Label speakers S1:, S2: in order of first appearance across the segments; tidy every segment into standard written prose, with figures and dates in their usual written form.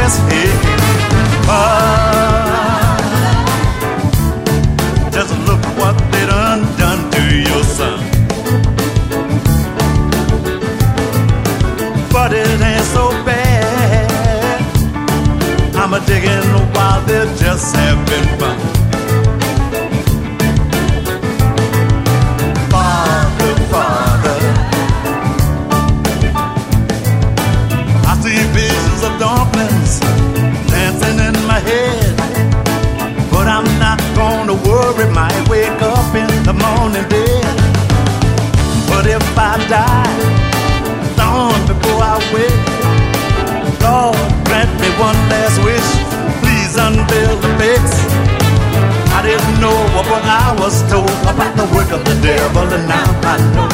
S1: glass head. Just look what they done to your son. But it ain't so bad. I'm a digging while they're just having fun. Father, Father, I see visions of dumplings dancing in my head. But I'm not gonna worry, might wake up in the morning dead. But if I die, long before I wake, Lord, grant me one last wish. Please unveil the face. I didn't know what I was told about the work of the devil, and now I know.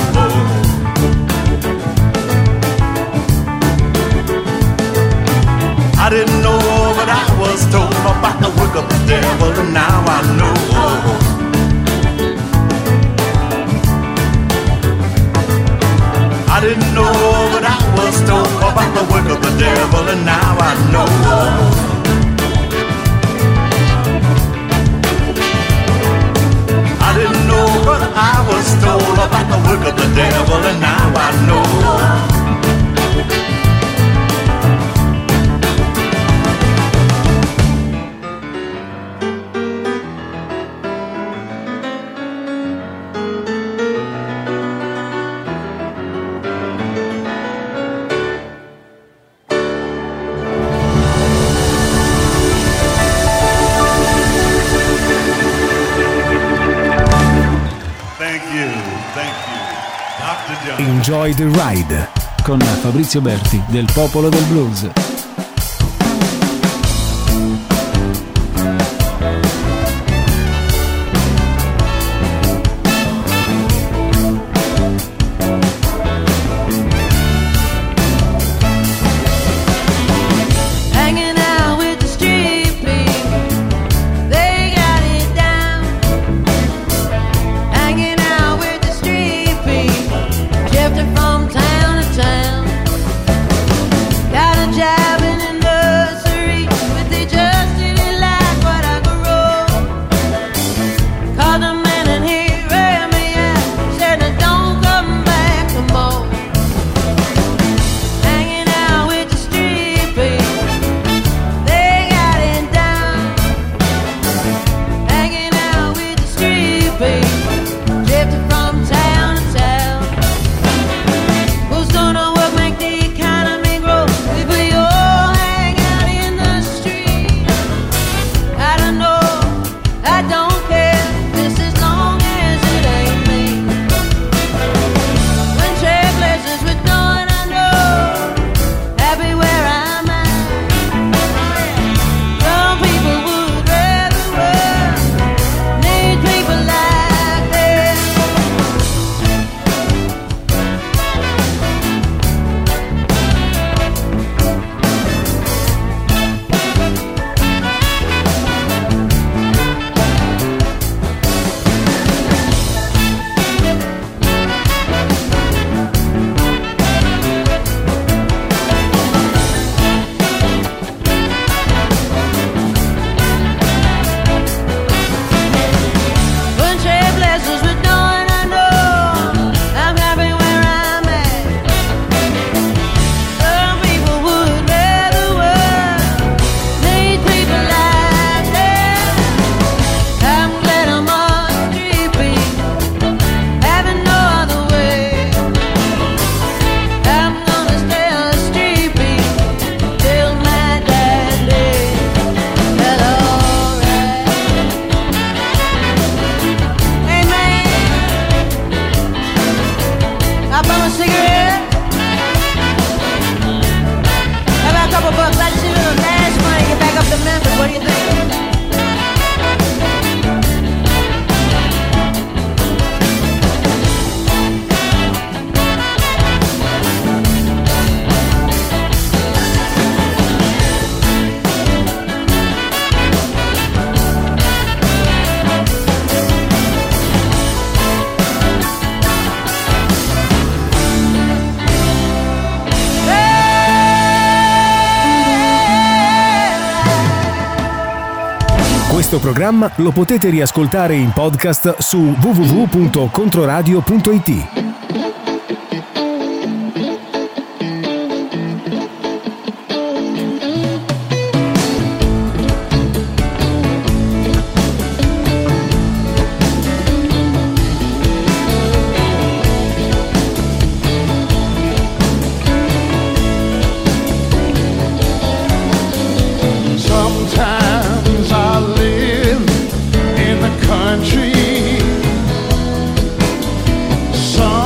S1: I didn't know what I was told about the work of the devil, and now I know. I didn't know what I was told about the work of the devil, and now I know. I didn't know what I was told about the work of the devil, and now I know.
S2: Enjoy the Ride con Fabrizio Berti del Popolo del Blues.
S3: From town to town, got a jack
S2: Questo programma lo potete riascoltare in podcast su www.controradio.it.
S1: Sometimes I live in the country. Some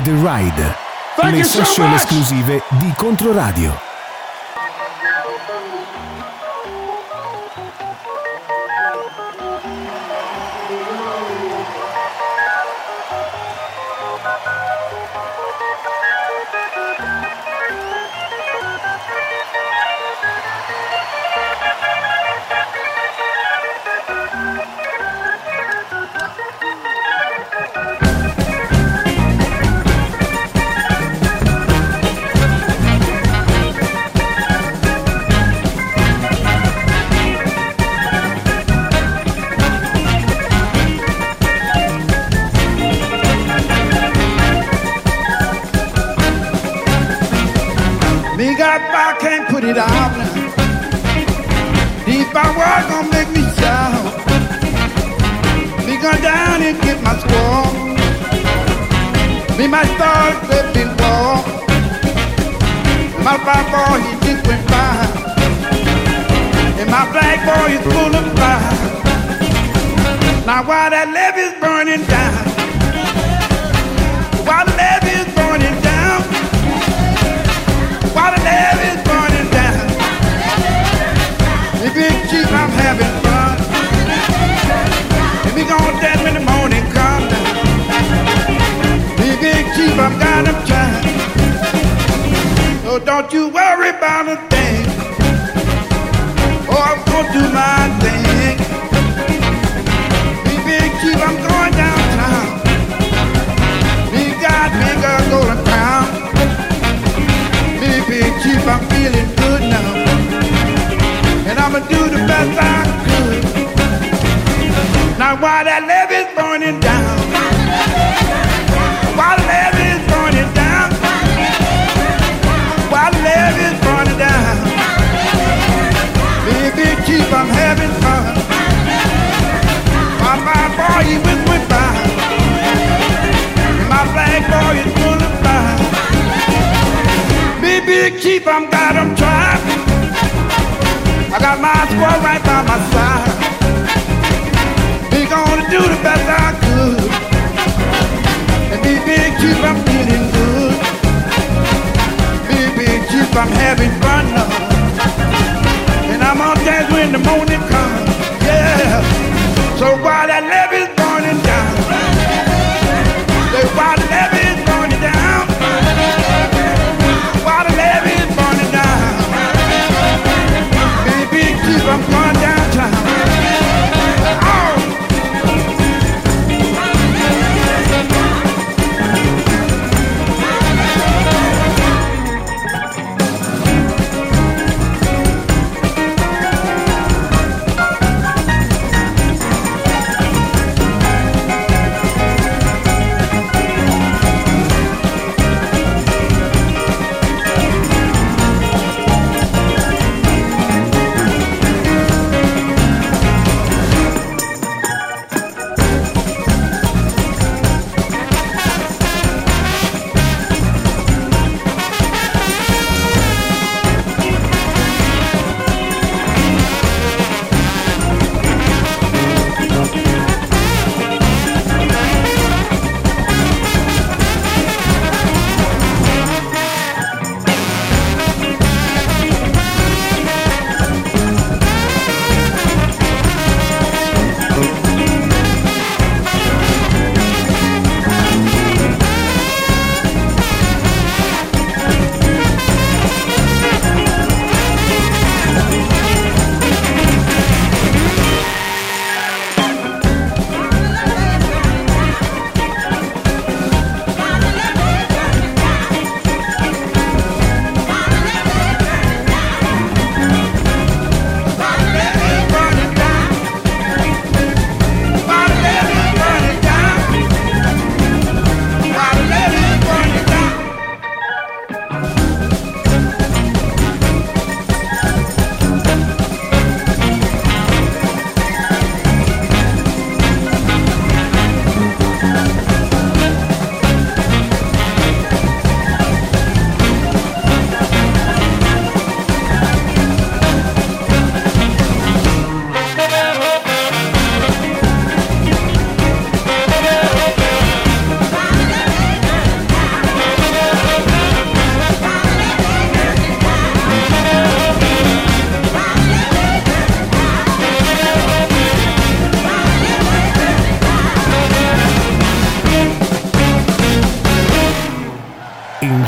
S2: the Ride. Le session esclusive di Controradio.
S3: I can't put it out now. Deep my work gonna make me shout. Me go down and get my squaw. Me my stars that been war. My black boy he just went by. And my black boy is full of fire. Now while that levee's burning down, while the levee's burning down, while the levee's burning down, if it's cheap, I'm having fun. And we gon' dance when the morning comes down. If it's cheap, I'm got them trying. So don't you worry about a thing. Oh, I'm gonna do my thing. If it's cheap, I'm going downtown. We got bigger golden crown. Big cheap, I'm feeling good now. And I'ma do the best I could. Now while that levee's burning down, while the levee's burning down, while the levee's burning down, big cheap, I'm having fun. My boy, he with me by. And my black boy is full of fire. Big cheap, I'm got them trying. I got my squad right by my side. We gonna do the best I could. And big cheap, I'm feeling good. Big cheap, I'm having fun now. And I'm on dance when the morning comes. Yeah. So while that levee's burning down, while the levee's burning down, I'm going downtown. Oh!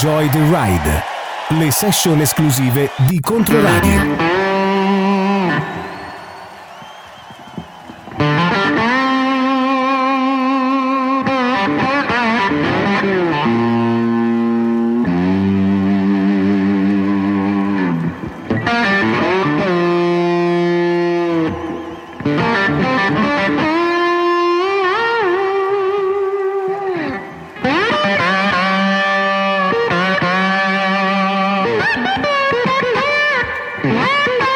S2: Enjoy the Ride, le session esclusive di Controradio.
S4: Yeah.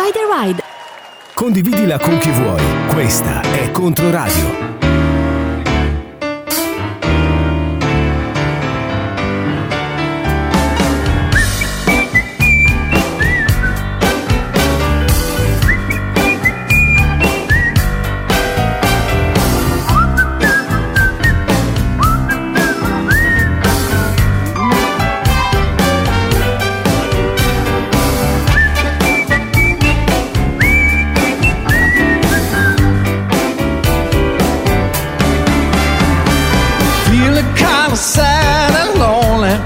S4: Enjoy the Ride.
S2: Condividila con chi vuoi. Questa è Controradio.
S3: Sad and lonely,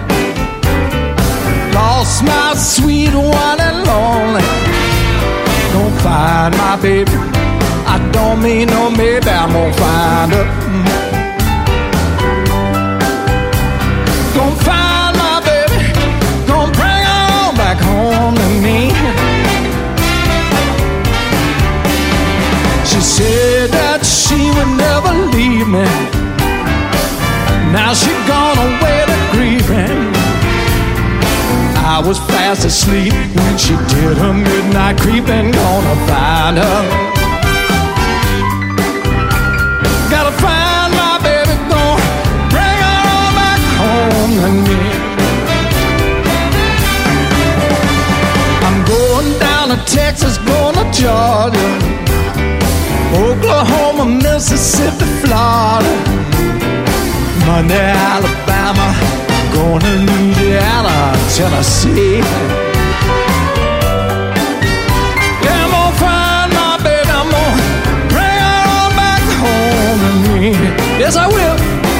S3: lost my sweet one and lonely. Don't find my baby, I don't mean no maybe, I'm gonna find her. Gonna find my baby, gonna bring her on back home to me. She said that she would never leave me. Now she gone away to grieving. I was fast asleep when she did her midnight creeping. Gonna find her. Gotta find my baby, gonna bring her on back home to me. I'm going down to Texas, going to Georgia, Oklahoma, Mississippi, Florida, Monday, Alabama, going to Louisiana, Tennessee. Yeah, I'm gonna find my baby, I'm gonna bring her on back home to me. Yes, I will.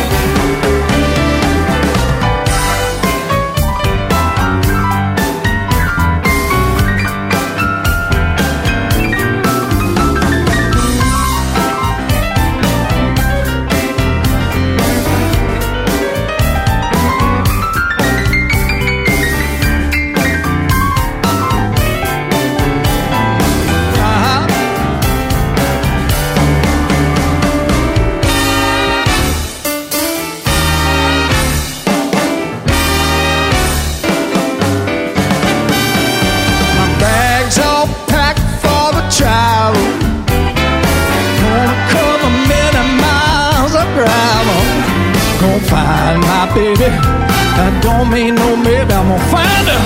S3: Find my baby, that don't mean no maybe, I'm gonna find her.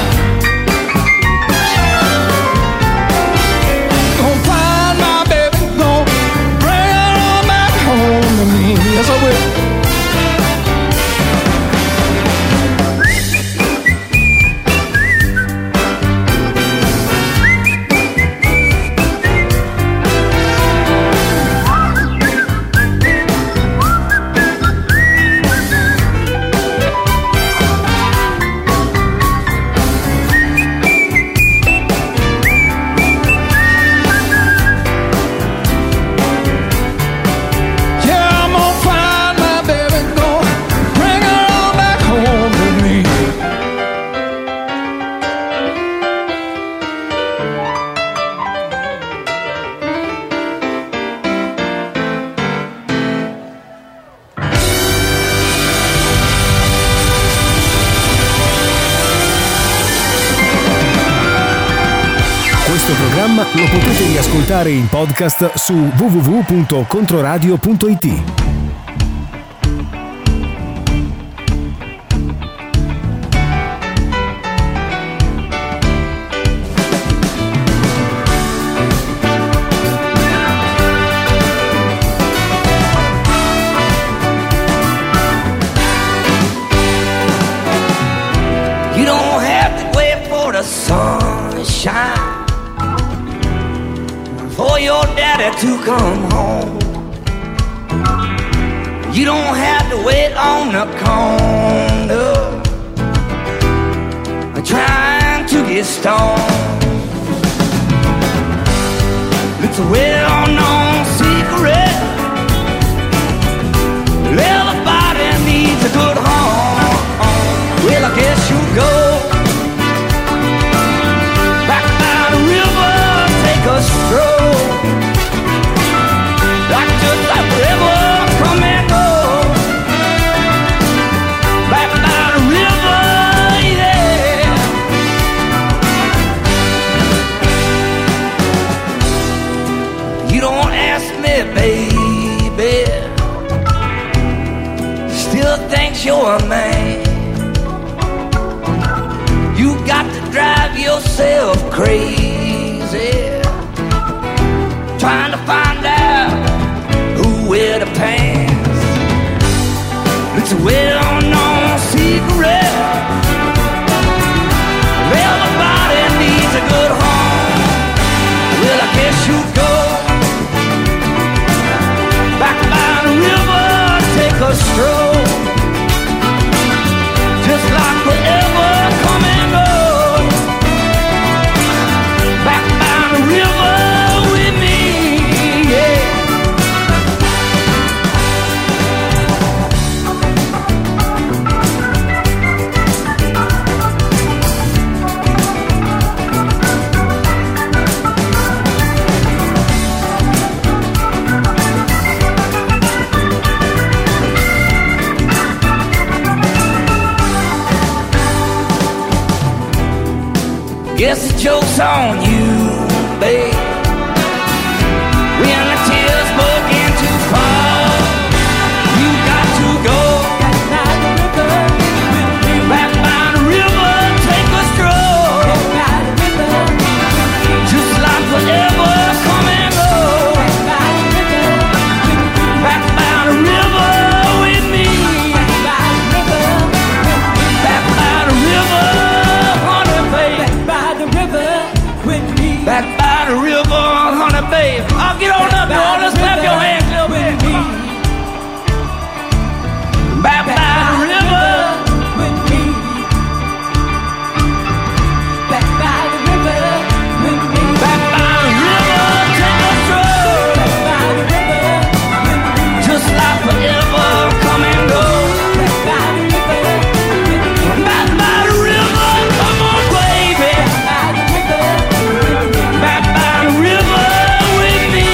S3: Gonna find my baby, gonna bring her on back home to me. Yes, I will. Lo potete riascoltare in podcast su www.controradio.it.
S5: You don't have to wait for the sun to shine for your daddy to come home. You don't have to wait on the corner trying to get stoned. It's a well-known secret. Everybody needs a good home. Well, I guess you'll go back by the river, take a stroll. Like just like river, come and go. Back by the river, yeah. you're a man. You got to drive yourself crazy, trying to find out who wear the pants. It's a well-known secret. Everybody needs a good home. Well, I guess you go back by the river, take a stroll, just like forever come and go. Back by the river with me, yeah. Guess the joke's on you, babe. When the tears begin to fall, you got to go back by the river, take a stroll, just like forever come and go. Back by the river with me, back by the river, honey babe. Back by the river, honey babe. I'll get on up, y'all. Let's clap your hands a little bit. Back by the river with me. Back by the river with me. Back by the river, take a stroll. Back by the river with me. Just like forever, come and go. Back by the river with me. Back by the river, come on, baby. Back by the river with me.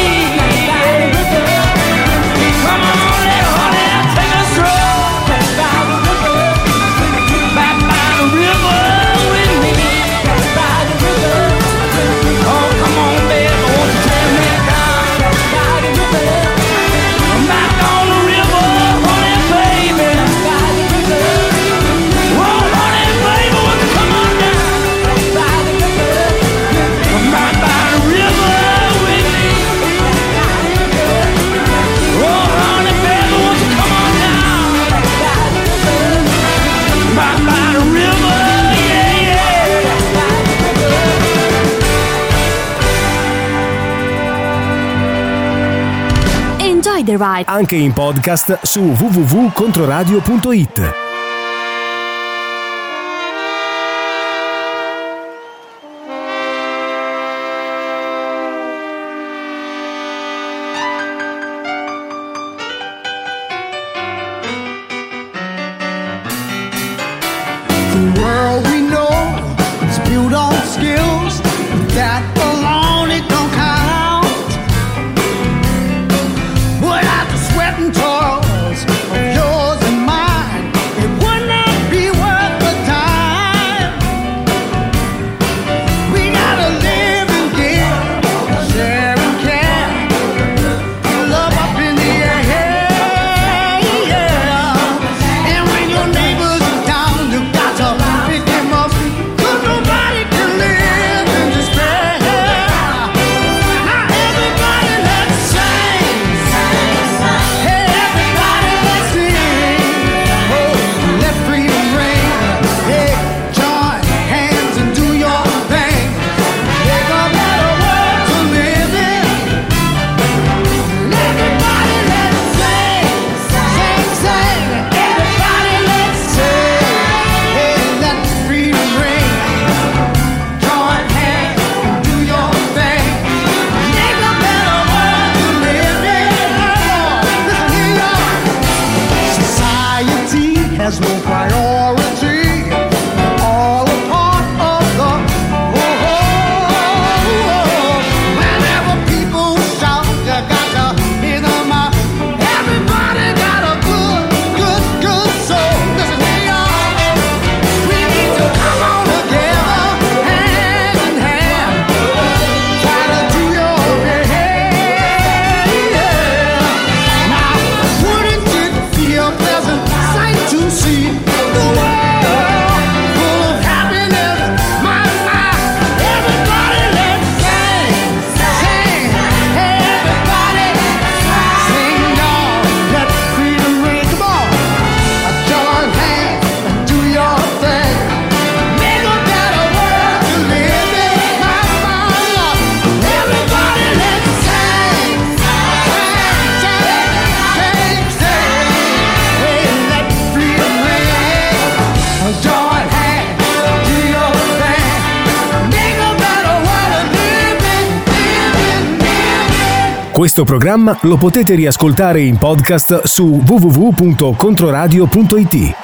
S5: Come on, let honey take a stroll. Back by the river with me. Back by the river with me. Back by the river with me. Oh, come on, baby, won't you take me down? Back by the river. I'm back on the river, honey, baby. Back by the river. Oh, honey, baby, won't you come on down? Back by the river. I'm back by the river with me. Oh, honey, baby, won't you come on down? Back by the river, yeah, yeah.
S4: Enjoy the ride.
S2: Anche in podcast su www.controradio.it.
S3: The world we know is built on skills that alone it don't count. Without the sweat and toils of yours and mine, it
S2: Questo programma lo potete riascoltare in podcast su www.controradio.it.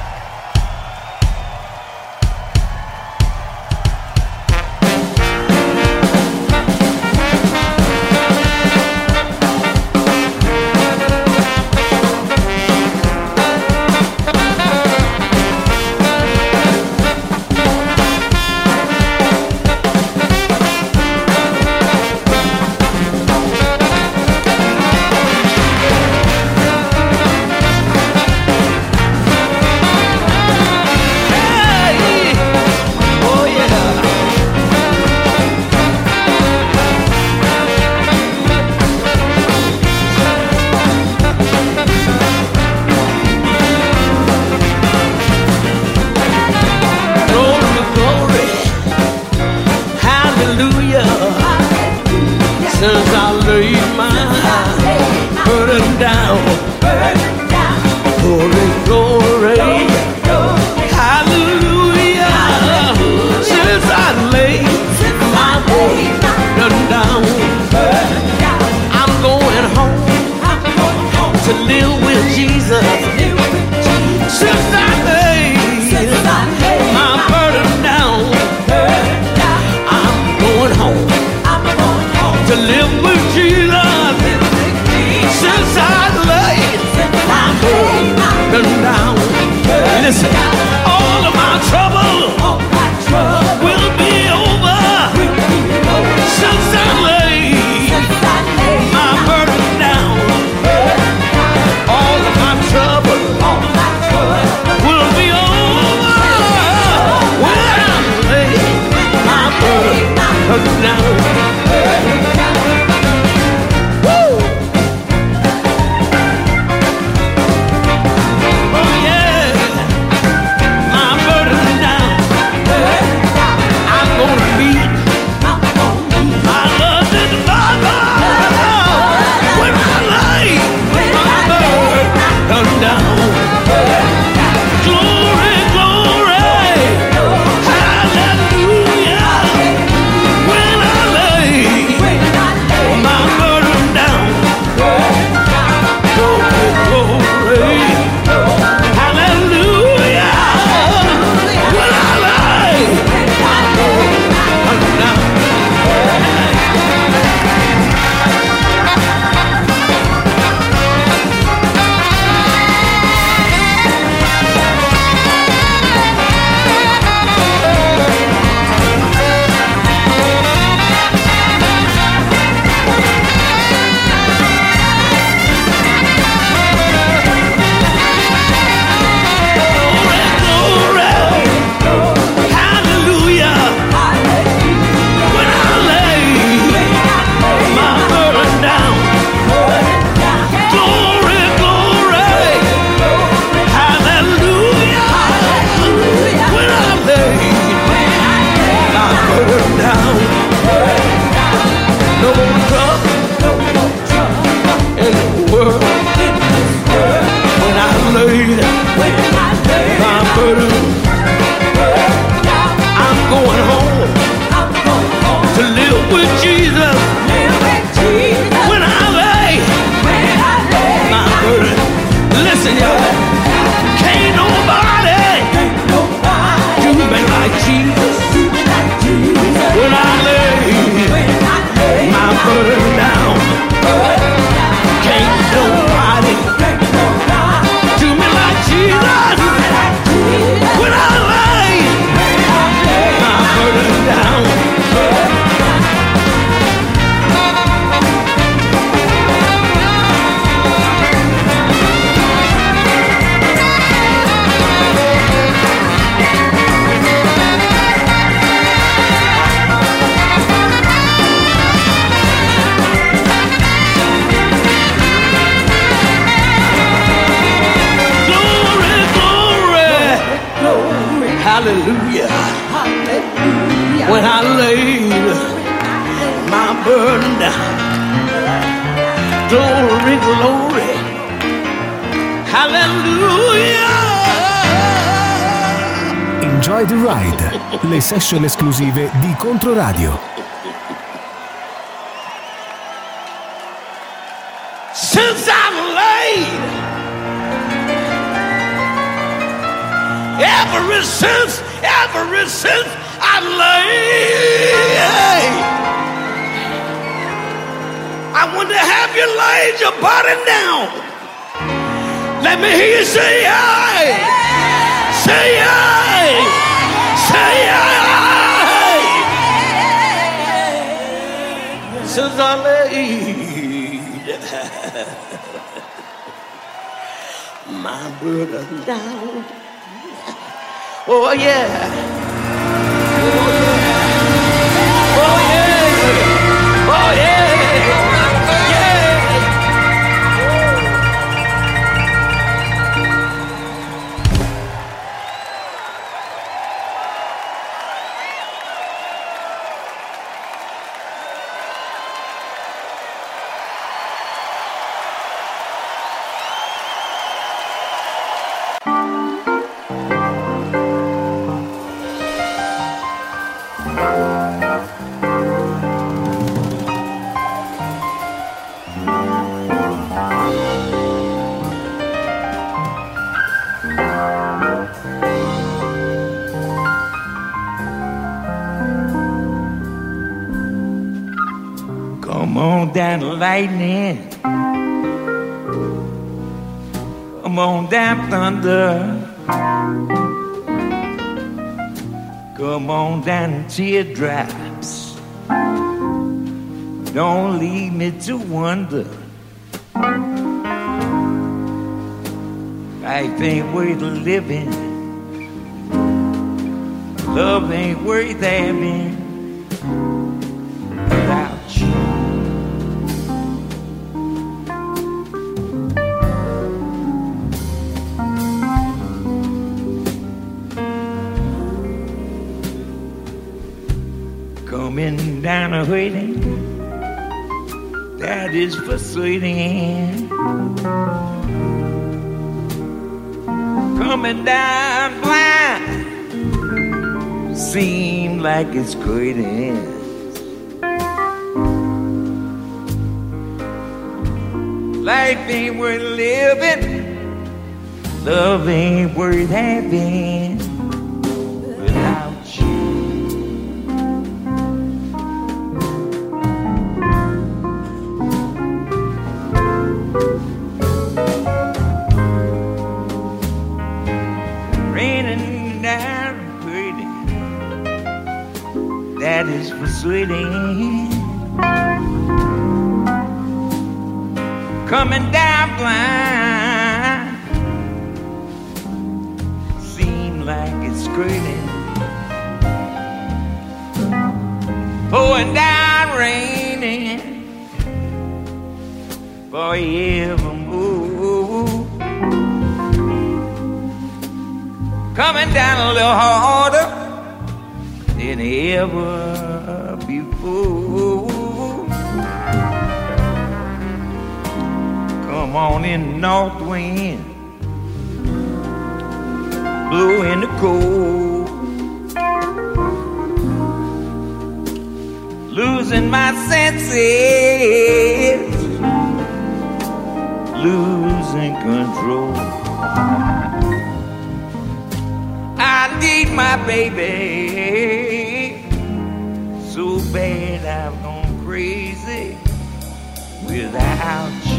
S5: Hallelujah. Hallelujah. When I laid my burden down. Glory, glory. Hallelujah.
S2: Enjoy the Ride, le session esclusive di Controradio.
S5: since I'm laid. Ever since I'm laid. I want to have you laid your body down. Let me hear you say aye. Say aye. Say aye. Since I'm laid my burden down. Oh yeah. Oh yeah. Oh yeah. Oh yeah. Come on down, lightning. Come on down, thunder. Come on down, teardrops. Don't leave me to wonder. Life ain't worth living. Love ain't worth having without you. Coming down a waiting, that is persuading. Coming down blind, seem like it's quitting. Life ain't worth living, love ain't worth having without you. Raining down pretty, that is persuading. Coming down blind, seem like it's skirting. Pouring down raining forevermore. Coming down a little harder than ever before. Come on in, north wind, blow in the cold. Losing my senses, losing control. I need my baby so bad I've gone crazy without you.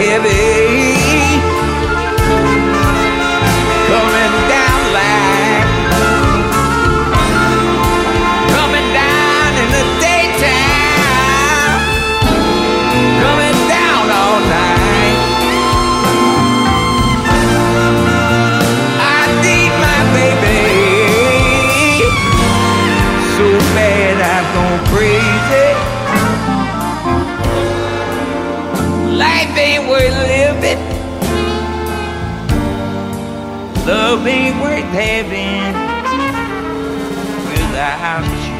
S5: heavy, coming down like, coming down in the daytime, coming down all night. I need my baby so bad I've gone crazy. Life ain't worth living, love ain't worth having without you.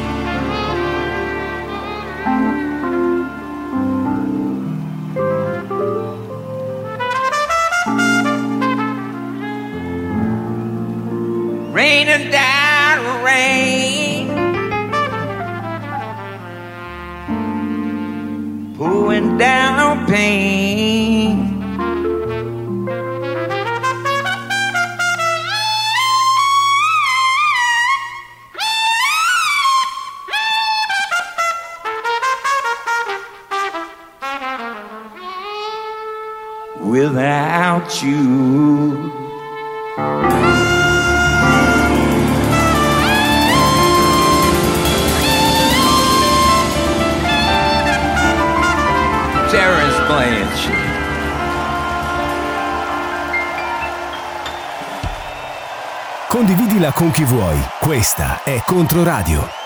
S5: Raining down rain, pouring down pain. Without you. Terrence Blanchard.
S2: Condividila con chi vuoi. Questa è Controradio.